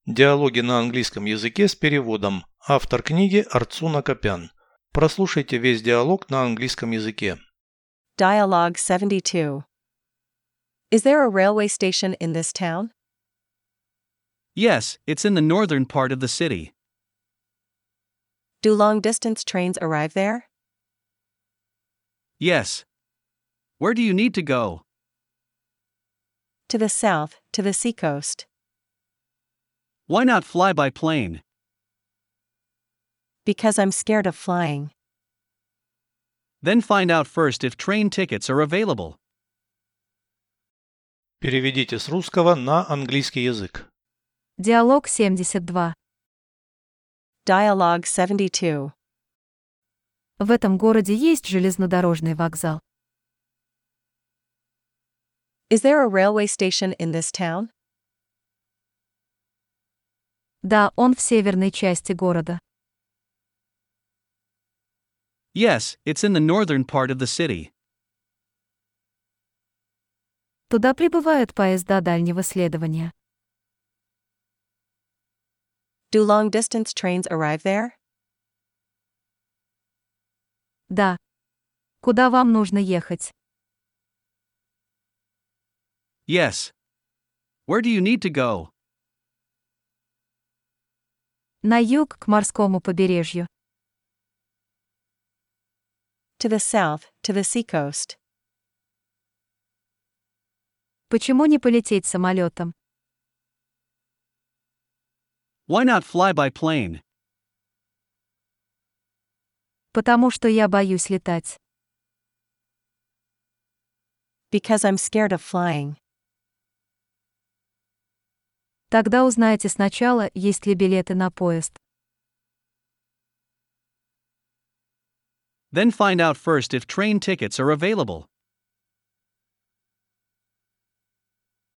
Диалоги на английском языке с переводом. Автор книги Арцуна Копян. Прослушайте весь диалог на английском языке. Dialogue 72. Is there a railway station in this town? Yes, it's in the northern part of the city. Do long-distance trains arrive there? Yes. Where do you need to go? To the south, to the seacoast. Why not fly by plane? Because I'm scared of flying. Then find out first if train tickets are available. Переведите с русского на английский язык. Диалог 72. Dialogue 72. В этом городе есть железнодорожный вокзал. Is there a railway station in this town? Да, он в северной части города. Yes, it's in the northern part of the city. Туда прибывают поезда дальнего следования. Do long-distance trains arrive there? Да. Куда вам нужно ехать? Yes. Where do you need to go? На юг, к морскому побережью. To the south, to the seacoast. Почему не полететь самолетом? Why not fly by plane? Потому что я боюсь летать. Because I'm scared of flying. Тогда узнайте сначала, есть ли билеты на поезд. Then find out first if train tickets are available.